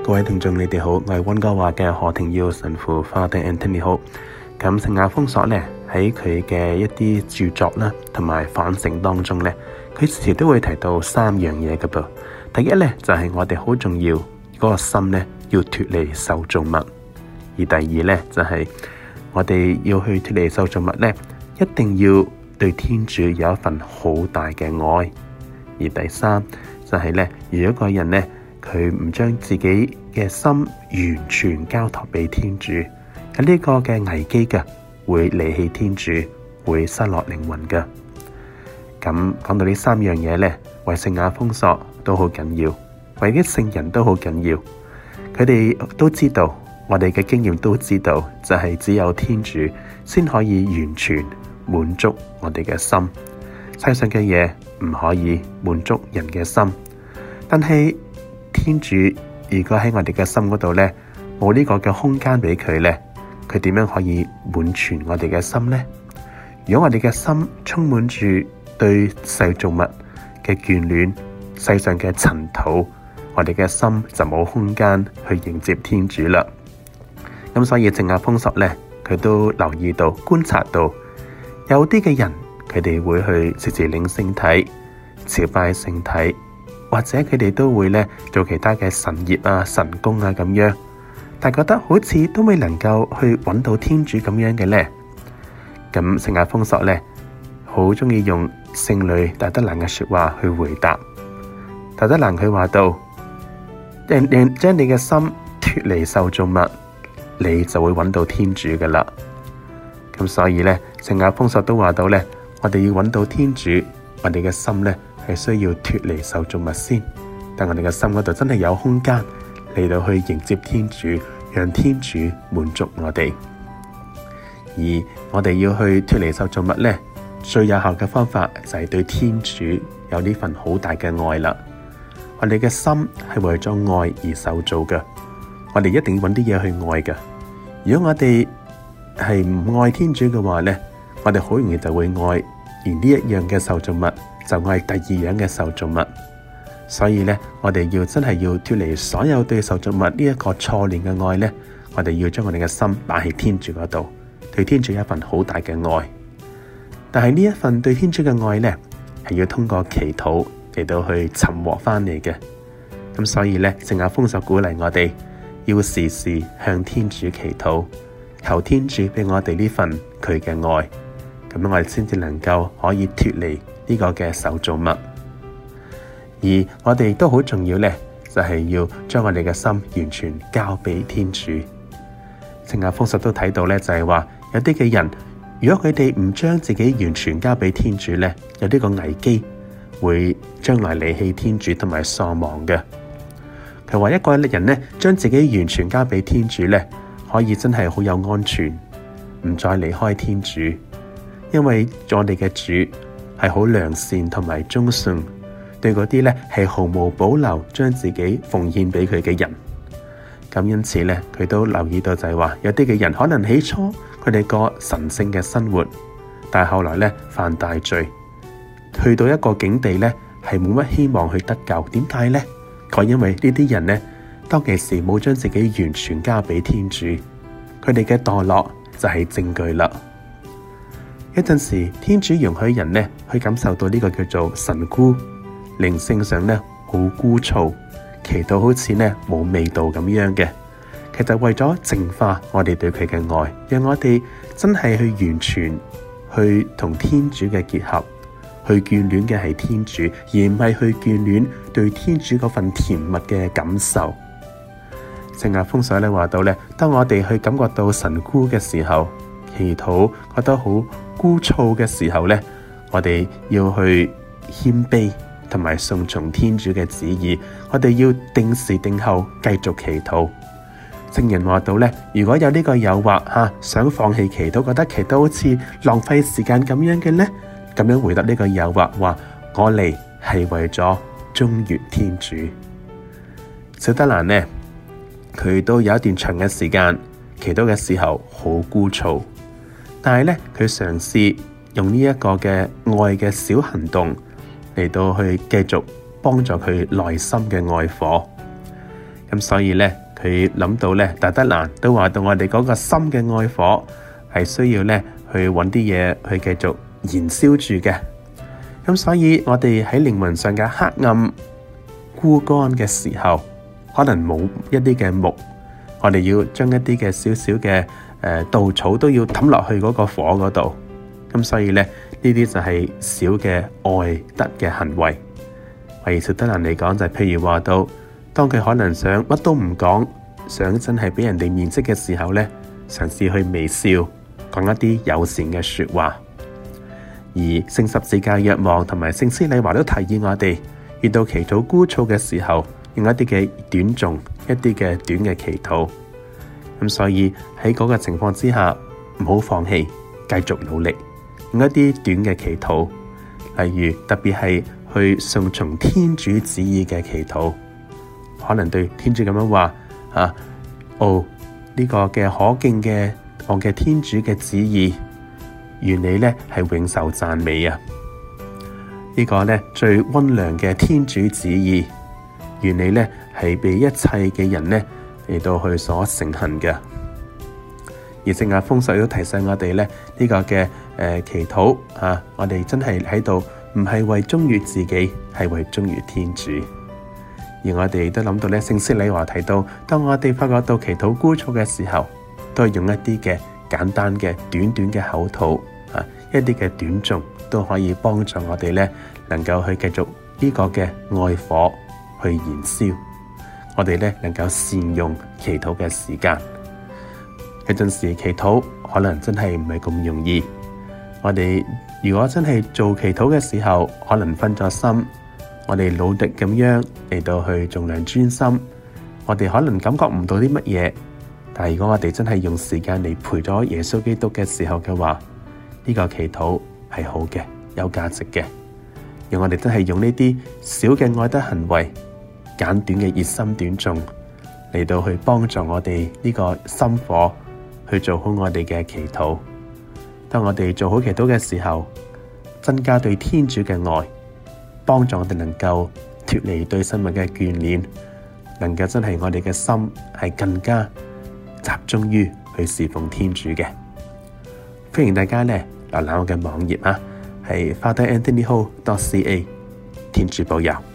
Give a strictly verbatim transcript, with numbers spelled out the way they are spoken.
各位聽眾你哋好，我係溫哥華嘅何庭耀神父 Father Anthony 好。咁聖亞豐索咧喺佢嘅一啲著作啦，同埋反省當中咧，佢時時都會提到三樣嘢㗎噃。第一咧就係、是、我哋好重要嗰、那個心咧要脫離受造物，而第二咧就係、是、我哋要去脫離受造物咧，一定要對天主有一份好大嘅愛，而第三就係、是、咧，如果個人咧佢唔將自己嘅心完全交託俾天主，有呢個嘅危機嘅，會離棄天主，會失落靈魂嘅。咁講到呢三樣嘢咧，為聖亞豐索都好緊要，為啲聖人都好緊要。佢哋都知道，我哋嘅經驗都知道，就係、是、只有天主先可以完全滿足我哋嘅心。世上嘅嘢唔可以滿足人嘅心，但係天主如果喺我哋嘅心嗰度咧，冇呢個嘅空間俾佢咧，佢點樣可以滿全我哋嘅心呢？如果我哋嘅心充滿住對世造物嘅眷戀，世上嘅塵土，我哋嘅心就冇空間去迎接天主啦。咁所以聖亞豐索咧，佢都留意到、觀察到，有啲嘅人佢哋會去時時領聖體、朝拜聖體。或者佢哋都會咧做其他嘅神業啊、神功啊咁樣，但係覺得好似都未能夠去揾到天主咁樣嘅咧。咁聖亞豐索咧好中意用聖女大德蘭嘅說話去回答。大德蘭佢話到：讓讓將你嘅心脫離受造物，你就會揾到天主噶啦。咁所以咧，聖亞豐索都話到咧，我哋要揾到天主，我哋嘅心咧。係需要脫離受造物先，但我哋嘅心嗰度真係有空間嚟到去迎接天主，讓天主滿足我哋。而我哋要去脫離受造物咧，最有效嘅方法就係對天主有呢份好大嘅愛啦。我哋嘅心係為咗愛而受造嘅，我哋一定要揾啲嘢去愛嘅。如果我哋係唔愛天主嘅話咧，我哋好容易就會愛而呢一樣嘅受造物。就愛第二樣嘅受造物，所以咧，我哋要真係要脫離所有對受造物呢一個錯亂嘅愛咧，我哋要將我哋嘅心擺喺天主嗰度，對天主有一份好大嘅愛。但係呢一份對天主嘅愛咧，係要通過祈禱嚟到去尋獲翻嚟嘅。咁所以咧，聖亞豐索鼓勵我哋要時時向天主祈禱，求天主俾我哋呢份佢嘅愛，咁樣我哋先至能夠可以脫離呢個嘅受造物。而我哋都好重要咧，就係、是、要將我哋嘅心完全交俾天主。聖亞豐索都睇到咧，就係、是、話有啲嘅人，如果佢哋唔將自己完全交俾天主咧，有呢個危機會將來離棄天主同埋喪亡嘅。佢話一個人咧，將自己完全交俾天主咧，可以真係好有安全，唔再離開天主，因為我哋嘅主係好良善同埋忠信，對嗰啲咧係毫無保留將自己奉獻俾佢嘅人。咁因此咧，佢都留意到就係話，有啲嘅人可能起初佢哋過神聖嘅生活，但係後來咧犯大罪，去到一個境地咧係冇乜希望去得救。點解咧？佢因為呢啲人咧當其時冇將自己完全交俾天主，佢哋嘅墮落就係證據啦。有陣時天主容許人咧去感受到呢個叫做神枯，靈性上咧好枯燥，祈禱好似咧冇味道咁樣嘅，其實為咗淨化我哋對佢嘅愛，讓我哋真係去完全去同天主嘅結合，去眷戀嘅係天主，而唔係去眷戀對天主嗰份甜蜜嘅感受。聖亞豐索咧話到咧，當我哋去感覺到神枯嘅時候，祈禱覺得好枯燥嘅時候咧，我哋要去謙卑同埋順從天主嘅旨意，我哋要定時定候繼續祈禱。聖人話到咧，如果有呢個誘惑吓、啊，想放棄祈禱，覺得祈禱好似浪費時間咁樣嘅咧，咁樣回答呢個誘惑，話我嚟係為咗忠於天主。小德蘭呢，佢都有一段長嘅時間祈禱嘅時候好枯燥，但係咧佢嘗試用呢一個嘅愛嘅小行動嚟到去繼續幫助佢內心嘅愛火。咁咁所以咧，佢諗到咧，大德蘭都話到我哋嗰個心嘅愛火係需要咧去揾啲嘢去繼續燃燒住嘅。咁所以我哋喺靈魂上嘅黑暗枯乾嘅時候，可能冇一啲嘅木，我哋要將一啲嘅少少嘅誒稻草都要抌落去嗰個火嗰度。咁所以咧，呢啲就係小嘅愛德嘅行為。為小德蘭嚟講，就係譬如話到，當佢可能想乜都唔講，想真係俾人哋面色嘅時候咧，嘗試去微笑，講一啲友善嘅說話。而聖十字架若望同埋聖施禮華都提議我哋，遇到祈禱枯燥嘅時候，用一啲嘅短誦，一啲嘅短嘅祈禱。咁所以喺嗰個情況之下，唔好放棄，繼續努力，用一啲短嘅祈禱，例如特別係去順從天主旨意嘅祈禱，可能對天主咁樣話啊，哦，呢個嘅可敬嘅我嘅天主嘅旨意，願你咧係永受讚美啊！呢個咧最溫良嘅天主旨意，願你咧係被一切嘅人咧嚟到去所承行嘅。而聖亞豐索都提醒我哋咧，呢個嘅誒祈禱啊，我哋真係喺度唔係為忠於自己，係為忠於天主。而我哋都諗到咧，聖施禮華提到，當我哋發覺到祈禱枯燥嘅時候，都係用一啲嘅簡單嘅短短嘅口禱啊，一啲嘅短誦都可以幫助我哋咧，能夠去繼續呢個嘅愛火去燃燒。我哋咧能夠善用祈禱嘅時間。有陣時祈禱可能真係唔係咁容易。我哋如果真係做祈禱嘅時候，可能分咗心，我哋努力咁樣嚟到去盡量專心，我哋可能感覺唔到啲乜嘢。但係如果我哋真係用時間嚟陪咗耶穌基督嘅時候嘅話，呢個祈禱係好嘅，有價值嘅。讓我哋真係用呢啲小嘅愛德行為，簡短嘅熱心短誦嚟到去幫助我哋呢個心火去做好我哋嘅祈禱。當我哋做好祈禱嘅時候，增加對天主嘅愛，幫助我哋能夠脫離對生命嘅眷戀，能夠真係我哋嘅心係更加集中於去侍奉天主嘅。歡迎大家咧瀏覽我嘅網頁啊，係 Father Anthony Ho dot C A。天主保佑。